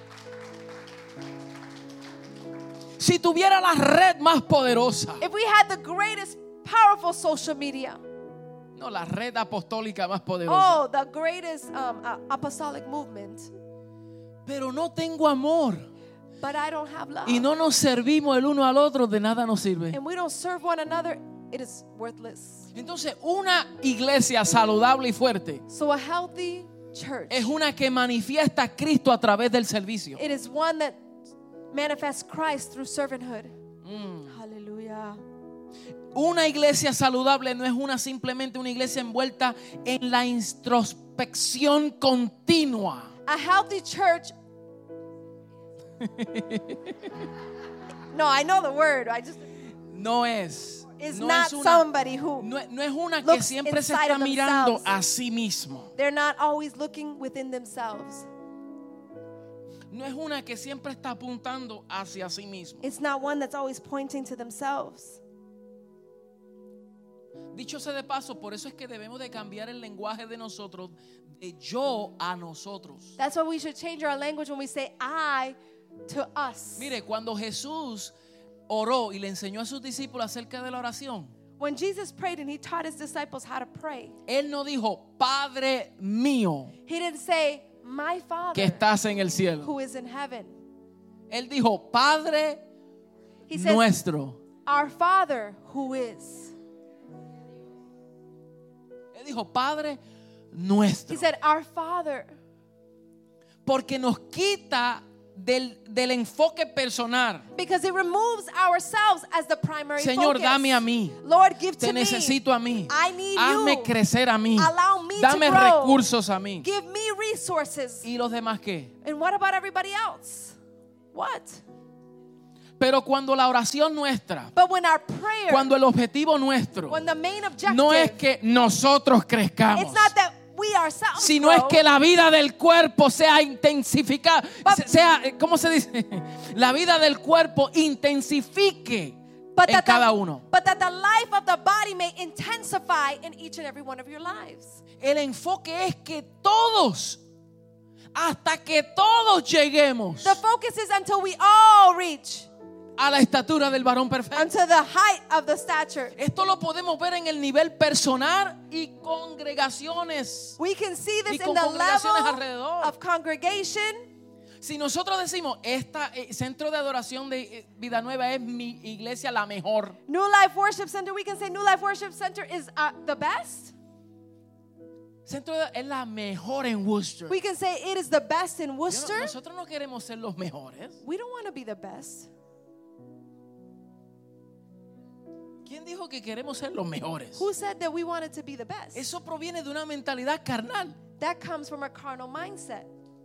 Si tuviera la red más poderosa, If we had the greatest powerful social media, no, la red apostólica más poderosa, oh, the greatest um, uh, apostolic movement, pero no tengo amor but I don't have love, y no nos servimos el uno al otro, de nada nos sirve. and we don't serve one another, it is worthless. Entonces, una iglesia saludable y fuerte So a healthy church, es una que manifiesta a Cristo a través del servicio. it is one that manifests Christ through servanthood. Mm. Hallelujah. Una iglesia saludable no es una simplemente una iglesia envuelta en la introspección continua. A healthy church. No, I know the word. I just No es. is no not es una, somebody who no, no es una que looks siempre se inside está of mirando themselves. a sí mismo. they're not always looking within themselves. No es una que siempre está apuntando hacia sí mismo. It's not one that's always pointing to themselves. Dicho sea de paso, por eso es que debemos de cambiar el lenguaje de nosotros de yo a nosotros. That's why we should change our language when we say I to us. Mire, cuando Jesús oró y le enseñó a sus discípulos acerca de la oración, When Jesus prayed and he taught his disciples how to pray, Él no dijo, Padre mío he didn't say, my Father que estás en el cielo. who is in heaven. Él dijo, Padre He said, nuestro. our Father who is. Él dijo, Padre nuestro. He said, our Father. Porque nos quita del, del enfoque personal. Because it removes ourselves as the primary Señor, focus. dame a mí. Lord, give Te to me. necesito a mí. I need Hazme you. crecer a mí. Allow me Dame to grow. recursos a mí. Give me resources. ¿Y los demás qué? And what about everybody else? What? Pero cuando la oración nuestra, But when our prayer, cuando el objetivo nuestro when the main objective, no es que nosotros crezcamos, it's not that we ourselves sino grow, es que la vida del cuerpo sea intensificada, But- sea, ¿cómo se dice? La vida del cuerpo intensifique but en that, cada the, uno. but that the life of the body may intensify in each and every one of your lives. El enfoque es que todos, hasta que todos lleguemos The focus is until we all reach a la estatura del varón perfecto. unto the height of the stature. Esto lo podemos ver en el nivel personal y congregaciones. We can see Y this con in the congregaciones level alrededor. of congregation. Si nosotros decimos, esta eh, centro de adoración de eh, Vida Nueva es mi iglesia la mejor. New Life Worship Center, we can say New Life Worship Center is uh, the best. Centro de, es la mejor en Worcester. We can say it is the best in Yo no- Worcester. nosotros no queremos ser los mejores. We don't want to be the best. ¿Quién dijo que queremos ser los mejores? Who said that we wanted to be the best? Eso proviene de una mentalidad carnal, That comes from a carnal mindset.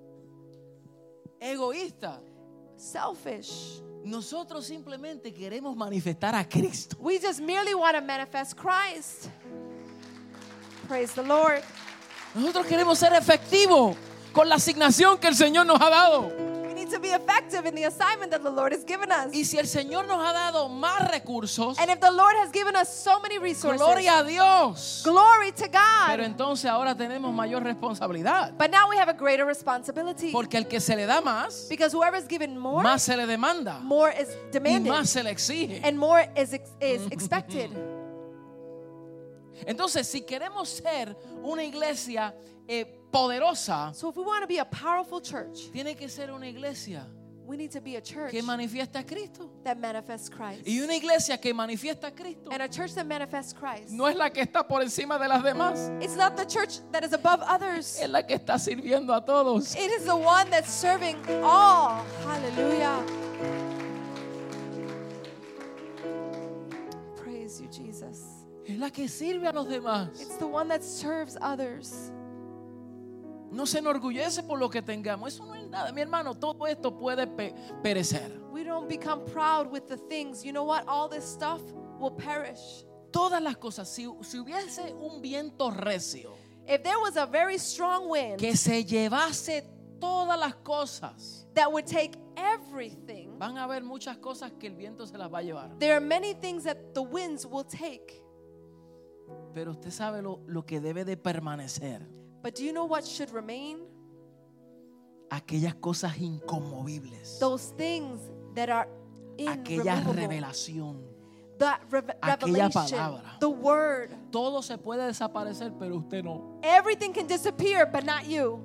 egoísta. Selfish. Nosotros simplemente queremos manifestar a Cristo. We just merely want to manifest Christ. Praise the Lord. Nosotros queremos ser efectivos con la asignación que el Señor nos ha dado. We need to be effective in the assignment that the Lord has given us. Y si el Señor nos ha dado más recursos, And if the Lord has given us so many resources, gloria a Dios. glory to Pero God. entonces ahora tenemos mayor responsabilidad. But now we have a greater responsibility. Porque el que se le da más, Because whoever is given more, más se le demanda more is y demanded. más se le exige. And more is, ex- is expected. Entonces, si queremos ser una iglesia eh, poderosa, So if we want to be a powerful church, tiene que ser una iglesia we need to be a church que manifiesta a Cristo. that manifests Christ. Y una iglesia que manifiesta a Cristo And a church that manifests Christ. no es la que está por encima de las demás, It's not the church that is above others. es la que está sirviendo a todos. It is the one that's serving all. Hallelujah. Praise you, Jesus. Es la que sirve a los demás. It's the one that serves others. No se enorgullece por lo que tengamos. Eso no es nada. Mi hermano, todo esto puede pe- perecer. We don't become proud with the things. You know what? All this stuff will perish. Todas las cosas. Si, si hubiese un viento recio If there was a very strong wind que se llevase todas las cosas, that would take everything, van a haber muchas cosas que el viento se las va a llevar. there are many things that the winds will take. Pero usted sabe lo, lo que debe de permanecer. But do you know what should remain? Aquellas cosas inconmovibles. Those things that are Aquella irremovable. revelación. That rev- Aquella revelation, palabra. the word. Todo se puede desaparecer, pero usted no. Everything can disappear, but not you.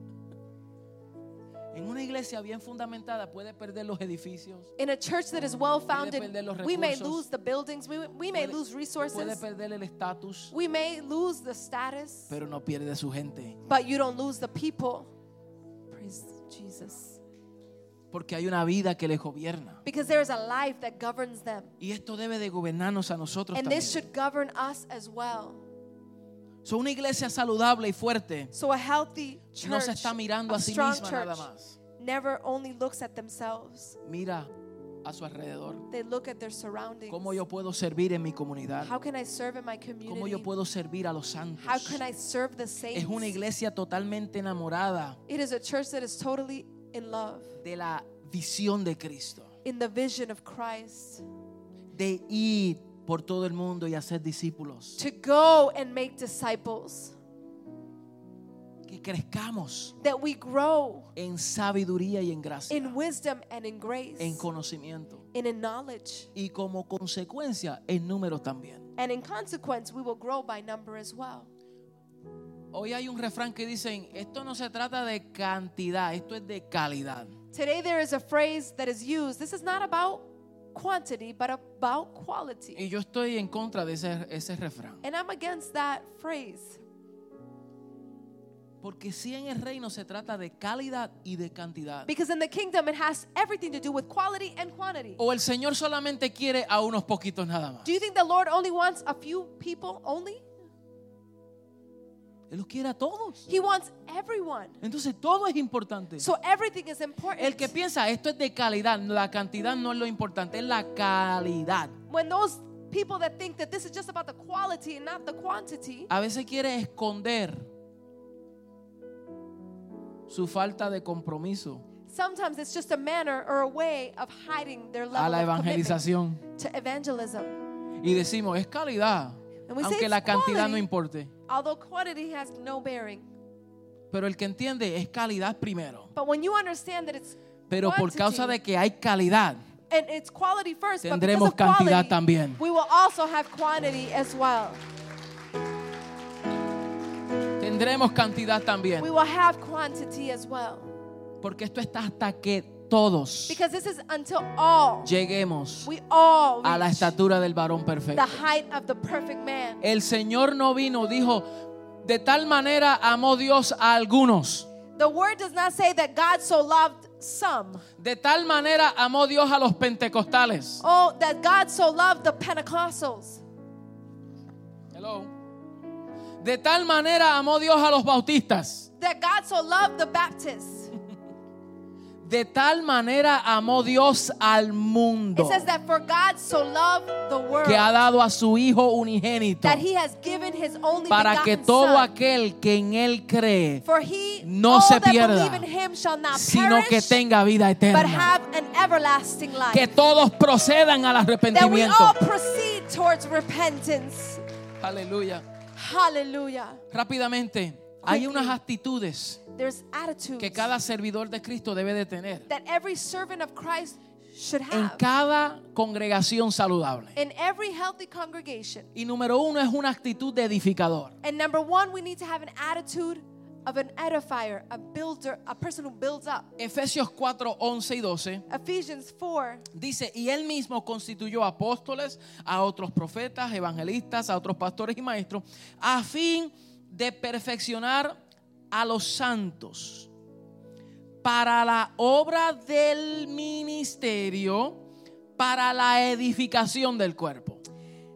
En una iglesia bien fundamentada puede perder los edificios, In a church that is well founded, perder los we may recursos. lose the buildings, we, we may puede, lose puede resources, perder el estatus, we may lose the status, pero no pierde su gente. but you don't lose the people. Praise Jesus. Porque hay una vida que les gobierna. Because there is a life that governs them. Y esto debe de gobernarnos a nosotros And también. this should govern us as well. So, una iglesia saludable y fuerte So a healthy church, no se está mirando a a sí strong misma nada church, más. never only looks at themselves. Mira a su alrededor. They look at their surroundings. ¿Cómo yo puedo servir en mi comunidad? How can I serve in my ¿Cómo yo community? puedo servir a los santos? How can I serve the saints? Es una iglesia totalmente enamorada It is a church that is totally in love, de la visión de Cristo. in the vision of Christ. De ir por todo el mundo y hacer discípulos. To go and make disciples. Que crezcamos That we grow en sabiduría y en gracia. in wisdom and in grace. En conocimiento. And in knowledge. Y como consecuencia en números también. And in consequence, we will grow by number as well. Hoy hay un refrán que dicen, esto no se trata de cantidad, esto es de calidad. Today there is a phrase that is used. This is not about quantity, but about quality. Y yo estoy en contra de ese, ese refrán. And I'm against that phrase. Porque si en el reino se trata de calidad y de cantidad. Because in the kingdom, it has everything to do with quality and quantity. O el Señor solamente quiere a unos poquitos nada más. Do you think the Lord only wants a few people only? Él los quiere a todos. He wants everyone. Entonces todo es importante. So everything is important. El que piensa esto es de calidad, la cantidad no es lo importante, es la calidad. When those people that think that this is just about the quality and not the quantity, A veces quiere esconder su falta de compromiso sometimes it's just a manner or a way of hiding their a level la of commitment evangelización. to evangelism. Y decimos, es calidad, And we say aunque it's la cantidad quality. no importe. Although quantity has no bearing. Pero el que entiende es calidad primero. But when you understand that it's Pero por quantity, causa de que hay calidad, and it's quality first, but because tendremos of cantidad quality, también. we will also have quantity as well. Tendremos cantidad también. We will have quantity as well. Porque esto está hasta que todos Because this is until all, lleguemos we all a la reach estatura del varón the perfecto. height of the perfect man. El Señor no vino, dijo, de tal manera amó Dios a algunos. The word does not say that God so loved some. De tal manera amó Dios a los pentecostales. Oh, that God so loved the Pentecostals. Hello. De tal manera amó Dios a los bautistas. That God so loved the Baptists. De tal manera amó Dios al mundo, It says that for God so loved the world que ha dado a su Hijo unigénito, that he has given his only para que begotten todo Son. aquel que en Él cree For he, no all se that pierda, believe in him shall not sino que perish, tenga vida but eterna. have an everlasting life. Que todos procedan al That we arrepentimiento. all proceed towards repentance. Aleluya. Hallelujah. Rápidamente, hay Quickly. unas actitudes There's attitudes que cada servidor de Cristo debe de tener that every servant of Christ should en have cada congregación saludable. in every healthy congregation. Y número uno es una actitud de edificador. And number one, we need to have an attitude of an edifier, a builder, a person who builds up. Efesios cuatro, once y doce Ephesians four dice, y él mismo constituyó apóstoles, a otros profetas, evangelistas, a otros pastores y maestros, a fin de perfeccionar a los santos para la obra del ministerio, para la edificación del cuerpo.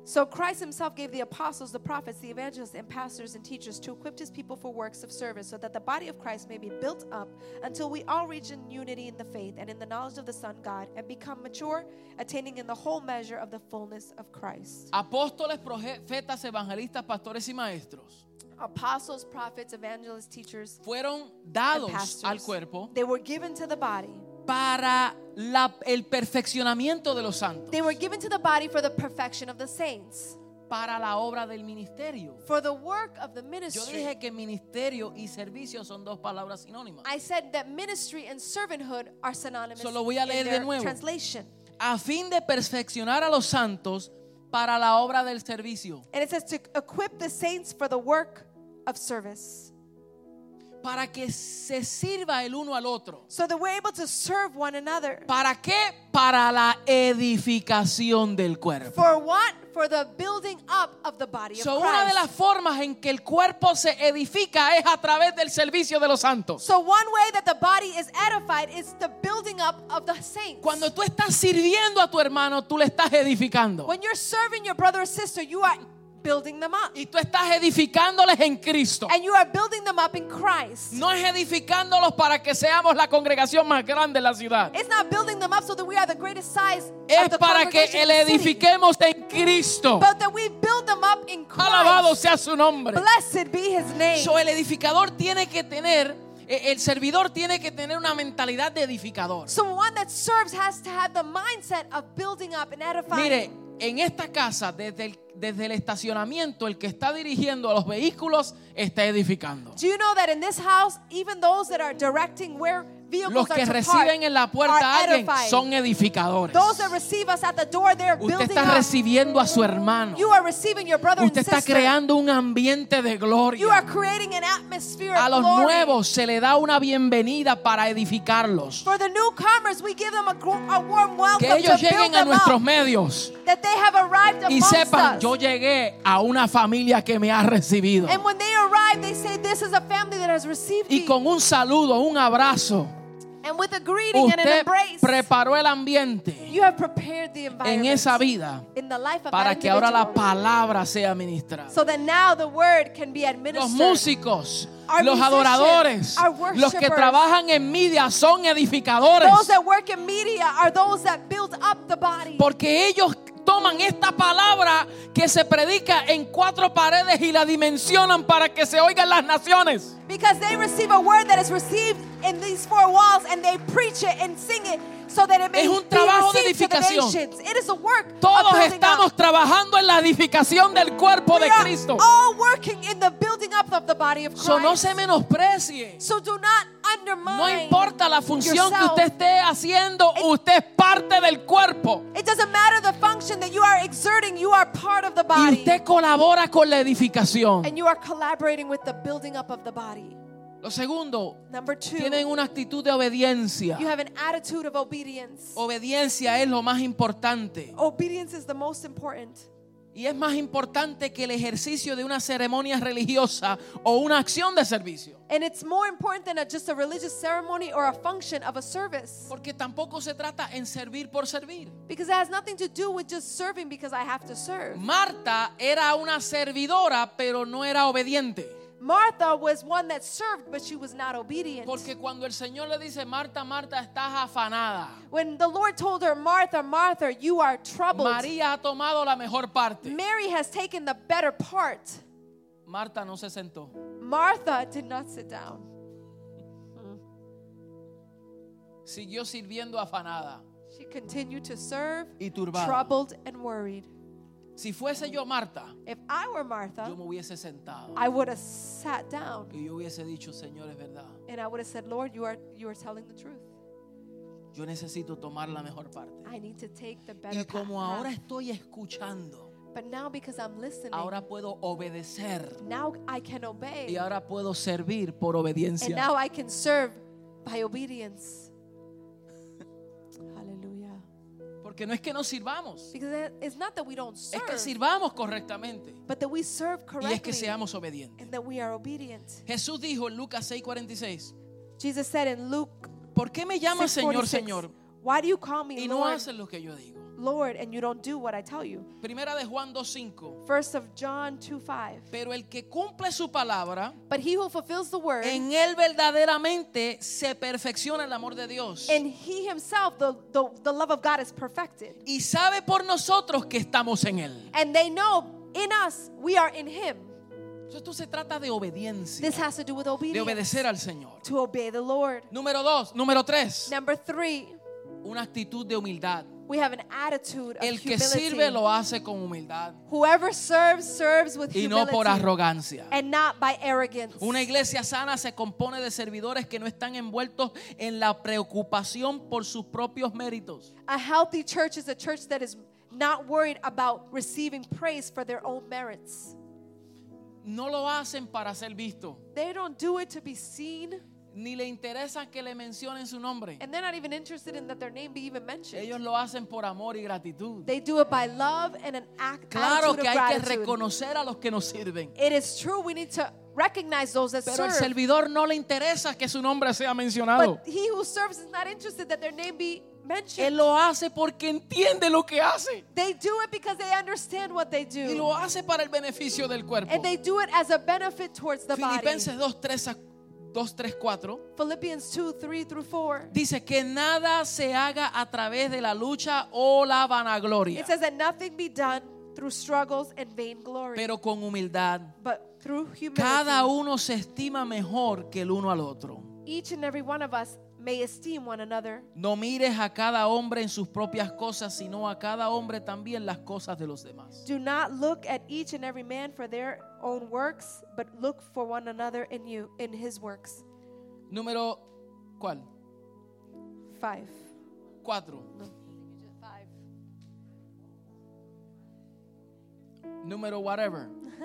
So Christ himself gave the apostles, the prophets, the evangelists, and pastors and teachers to equip his people for works of service, so that the body of Christ may be built up until we all reach in unity in the faith and in the knowledge of the Son God, and become mature, attaining in the whole measure of the fullness of Christ. Apóstoles, profetas, evangelistas, pastores y maestros Apostles, prophets, evangelists, teachers, fueron and dados pastors, al cuerpo they were given to the body. para la, el perfeccionamiento de los santos, They were given to the body for the perfection of the saints, para la obra del ministerio. for the work of the Yo ministry. dije que ministerio y servicio son dos palabras sinónimas. I said that ministry and servanthood are synonymous So lo voy a leer in de their nuevo. translation. A fin de perfeccionar a los santos para la obra del servicio, And it says to equip the saints for the work of service, para que se sirva el uno al otro. so that we're able to serve one another. ¿Para qué? Para la edificación del cuerpo. For what? For the building up of the body of So, una de Christ. las formas en que el cuerpo se edifica es a través del servicio de los santos. So one way that the body is edified is the building up of the saints. Cuando tú estás sirviendo a tu hermano, tú le estás edificando. When you're serving your brother or sister, you are building them up. Y tú estás edificándoles en Cristo. And you are building them up in Christ. No es edificándolos para que seamos la congregación más grande de la ciudad. It's not building them up so that we are the greatest size Es of the para que congregation le of the city, edifiquemos en Cristo. but that we build them up in Alabado Christ. sea su nombre. Blessed be his name. So, el edificador tiene que tener, eh, el servidor tiene que tener una mentalidad de edificador. So one that serves has to have the mindset of building up and edifying. Mire, en esta casa, desde el, desde el estacionamiento, el que está dirigiendo a los vehículos está edificando. Do you know that in this house, even those that are directing where vehicles Los que are to reciben park en la puerta a are alguien edifying. son edificadores. Those that receive us at the door, they're Usted building está up. recibiendo a su hermano. You are receiving your brother Usted and está sister. creando un ambiente de You gloria. are creating an atmosphere A of los glory. nuevos se le da una bienvenida para edificarlos. For the newcomers, we give them a, gr- a warm welcome Que ellos to build lleguen a them nuestros up. medios That they have arrived y amongst sepan, us. yo llegué a una familia que me ha recibido. And when they arrive, they say, this is a family that has received Y me. con un saludo, un abrazo, And with a greeting and an usted embrace, preparó el ambiente you have prepared the en environment esa vida in the life of para that que ahora la individual, palabra sea ministrada. so that now the word can be Los administered. músicos, Our los musicians, adoradores, our los que worshipers, trabajan en media son edificadores. Those that work in media are those that build up the body. Porque ellos toman esta palabra que se predica en cuatro paredes y la dimensionan para que se oigan las naciones. Because they receive a word that is received in these four walls and they preach it and sing it so that it may Es un be trabajo de received to the edificación. nations. It is a work of Todos building estamos up. trabajando en la edificación del cuerpo We de are Cristo. all working in the building up of the body of Christ. So, no se menosprecie. So do not undermine. No importa la función que yourself. usted esté haciendo, usted es parte del cuerpo. It doesn't matter the function that you are exerting, you are part of the Y body. usted colabora con la edificación. And you are collaborating with the building up of the body. Lo segundo, Number two, tienen una actitud de obediencia. you have an attitude of obedience. Obediencia es lo más importante. Obedience is the most important. Y es más importante que el ejercicio de una ceremonia religiosa o una acción de servicio. And it's more important than a, just a religious ceremony or a function of a service. Porque tampoco se trata en servir por servir. Because it has nothing to do with just serving because I have to serve. Marta era una servidora, pero no era obediente. Martha was one that served, but she was not obedient. Porque cuando el Señor le dice, Marta, Marta, estás afanada, When the Lord told her, Martha, Martha, you are troubled. María ha tomado la mejor parte. Mary has taken the better part. Marta no se sentó. Martha did not sit down. Siguió sirviendo afanada She continued to serve, y turbada. troubled and worried. Si fuese yo Marta, If I were Martha, yo me hubiese sentado I would have sat down y yo hubiese dicho, Señor, es verdad. and I would have said, Lord, you are you are telling the truth. Yo necesito tomar la mejor parte. I need to take the better Y como path. ahora estoy escuchando, But now because I'm listening, ahora puedo obedecer now I can obey. y ahora puedo servir por And obediencia. now I can serve by obedience. Hallelujah. Porque no es que no sirvamos, Because it- it's not that we don't es serve, que sirvamos correctamente but that we serve y es correctly que seamos obedientes. and that we are obedient. Jesús dijo en Lucas seis cuarenta y seis, Jesus said in Luke ¿por qué me llamas six Señor, forty-six, Señor why do you call me y no Lord, haces lo que yo digo? Lord, and you don't do what I tell you. Primera de Juan dos cinco. First of John two five. Pero el que cumple su palabra, But he who fulfills the word, en él verdaderamente se perfecciona el amor de Dios. and he himself, the, the, the love of God is perfected. Y sabe por nosotros que estamos en él. And they know in us, we are in him. Esto se trata de obediencia, This has to do with de obedience. obedecer al Señor. To obey the Lord. Número dos, número tres, Number three, una actitud de humildad. we have an attitude of El que humility. sirve lo hace con humildad Whoever serves, serves with y no humility por arrogancia. and not by arrogance. Una iglesia sana se compone de servidores que no están envueltos en la preocupación por sus propios méritos. A healthy church is a church that is not worried about receiving praise for their own merits. No lo hacen para ser vistos, They don't do it to be seen, ni le interesa que le mencionen su nombre. and they're not even interested in that their name be even mentioned. Ellos lo hacen por amor y gratitud. They do it by love and an act, Claro attitude que of hay que gratitude. reconocer a los que nos sirven, It is true, we need to recognize those that pero el serve. servidor no le interesa que su nombre sea mencionado. But he who serves is not interested that their name be mentioned. Él lo hace porque entiende lo que hace They do it because they understand what they y do. lo hace para el beneficio del cuerpo. And they do it as a benefit towards the body. Filipenses dos, tres, cuatro Philippians two, three through four. dice que nada se haga a través de la lucha o la vanagloria, It says that nothing be done through struggles and vainglory, pero con humildad. but through humility. Cada uno se estima mejor que el uno al otro. Each and every one of us may esteem one another. No mires a cada hombre en sus propias cosas, sino a cada hombre también las cosas de los demás. Do not look at each and every man for their own works, but look for one another in you, in his works. Número, ¿cuál? Five. Cuatro. Five. Número whatever.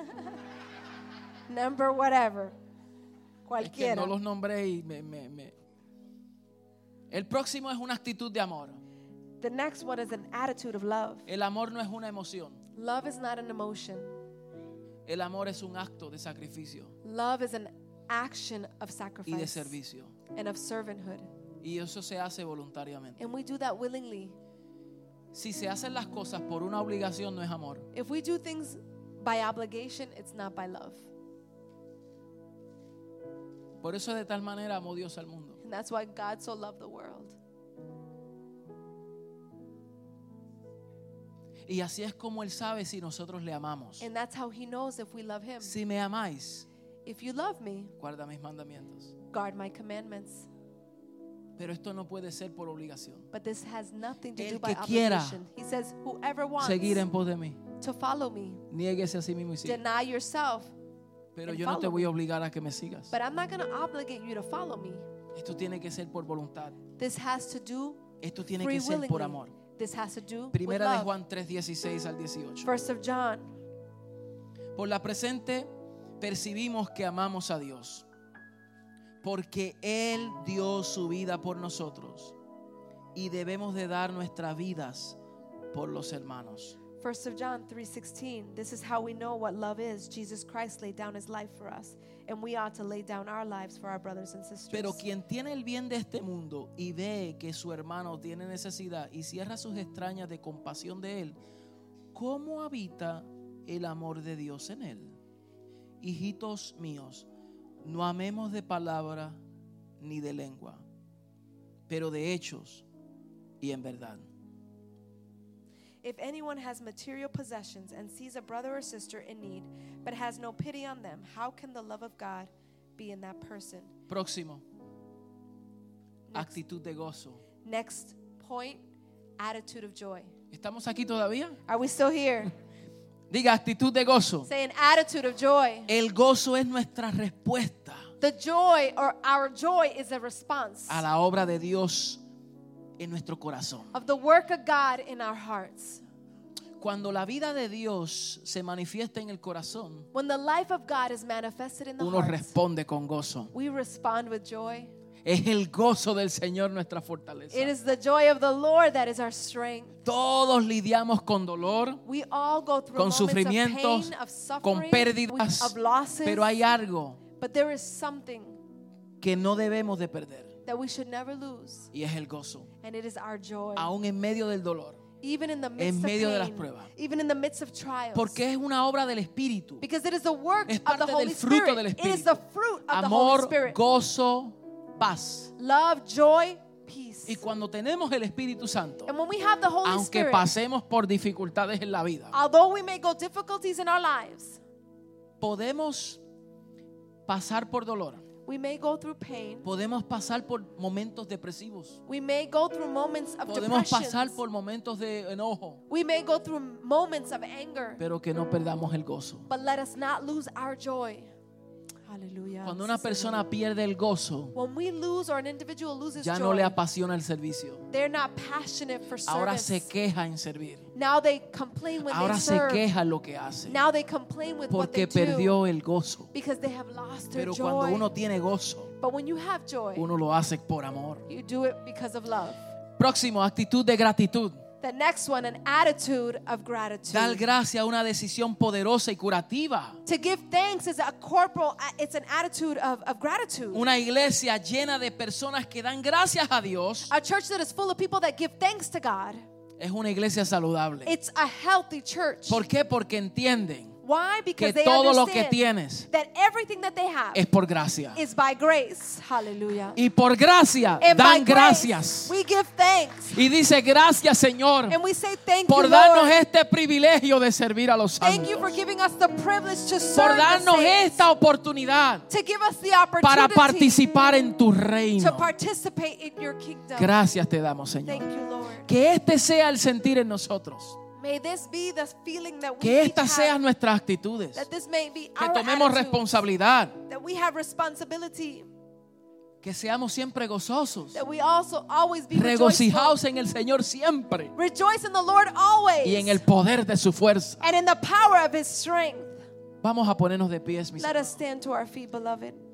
Number whatever. Es que Cualquiera. no los nombré y me, me, me. El próximo es una actitud de amor. The next one is an attitude of love. El amor no es una emoción. Love is not an emotion. El amor es un acto de sacrificio Love is an action of y de sacrifice servicio. and of servanthood. Y eso se hace voluntariamente. And we do that willingly. Si se hacen las cosas por una obligación, no es amor. If we do things by obligation, it's not by love. Por eso de tal manera amó Dios al mundo. And that's why God so loved the world. Y así es como Él sabe si nosotros le amamos. And that's how he knows if we love him. Si me amáis, If you love me, guarda mis mandamientos. guard my commandments. Pero esto no puede ser por obligación. But this has nothing to El do by que quiera obligation. He says, whoever wants Seguir en pos de mí, to follow me, niéguese a sí mismo y siga. deny yourself. Pero and yo no te follow voy a me. obligar a que me sigas. But I'm not going to obligate you to follow me. Esto tiene que ser por voluntad. This has to do Esto tiene free que ser por willingly. amor. This has to do with Primera de love. Juan tres, dieciséis al dieciocho. First of John. Por la presente percibimos que amamos a Dios, porque Él dio su vida por nosotros y debemos de dar nuestras vidas por los hermanos. First of John three sixteen. This is how we know what love is. Jesus Christ laid down his life for us, and we ought to lay down our lives for our brothers and sisters. Pero quien tiene el bien de este mundo y ve que su hermano tiene necesidad y cierra sus extrañas de compasión de él, ¿cómo habita el amor de Dios en él? Hijitos míos, no amemos de palabra ni de lengua, pero de hechos y en verdad. If anyone has material possessions and sees a brother or sister in need, but has no pity on them, how can the love of God be in that person? Próximo, Next, actitud de gozo. next point, attitude of joy. ¿Estamos aquí todavía? Are we still here? Diga, actitud de gozo. Say an attitude of joy. El gozo es nuestra respuesta The joy or our joy is a response a la obra de Dios en nuestro corazón. of the work of God in our hearts. Cuando la vida de Dios se manifiesta en el corazón, When the life of God is manifested in the uno heart, responde con gozo. we respond with joy. Es el gozo del Señor nuestra fortaleza. It is the joy of the Lord that is our strength. Todos lidiamos con dolor, We all go through con moments of sufrimientos, pain, of suffering, con pérdidas, of losses, pero hay algo but there is something que no debemos de perder that we should never lose, y es el gozo. and it is our joy. Aún en medio del dolor, Even in the midst en medio of de las pain, pruebas. even in the midst of trials. Porque es una obra del Espíritu. Because it is the work Es of parte the Holy del fruto Spirit. del It is Espíritu. the fruit of the Holy Amor, Spirit. gozo, paz. Love, joy, peace. Y cuando tenemos el Espíritu Santo, And when we have the Holy aunque Spirit, pasemos por dificultades en la vida, although we may go difficulties in our lives, podemos pasar por dolor. we may go through pain. Podemos pasar por momentos depresivos. We may go through moments of Podemos pasar depression. por momentos de enojo. We may go through moments of anger. Pero que no perdamos el gozo. But let us not lose our joy. Hallelujah. Cuando una persona pierde el gozo, When we lose or an individual loses ya no joy, le apasiona el servicio. they're not passionate for Ahora service. se queja en servir. Now they complain when Ahora they se serve. queja en lo que hace. Now they complain with what they Porque do perdió el gozo. because they have lost their Pero joy. cuando uno tiene gozo, But when you have joy, uno lo hace por amor. you do it because of love. Próximo, actitud de gratitud. The next one, an attitude of gratitude. Dar gracias a una decisión poderosa y curativa. To give thanks is a corporal, it's an attitude of, of gratitude. Una iglesia llena de personas que dan gracias a Dios A church that is full of people that give thanks to God. es una iglesia saludable. It's a healthy church. ¿Por qué? Porque entienden Why? Because que they todo lo que understand tienes that everything that they have es por gracia. is by grace. Hallelujah. Y por gracia And by dan grace, gracias. we give thanks. Y dice gracias, Señor, And we say thank por you, darnos Lord. este privilegio de servir a los Thank you santos. for giving us the privilege to Por serve the darnos saints. esta oportunidad To give us the para opportunity participar en tu to reino. participate in your kingdom. Gracias te damos, Thank Señor. you, Lord. Que este sea el sentir en nosotros. May this be the feeling that we Que each estas sean have, nuestras actitudes. that this may be Que our tomemos attitude, responsabilidad. that we have responsibility, Que seamos siempre gozosos. that we also always be rejoiceful. Regocijaos en el Señor siempre. Rejoice in the Lord always, Y en el poder de su fuerza. and in the power of His strength. Vamos a ponernos de pies, mis Let us stand to our feet, beloved.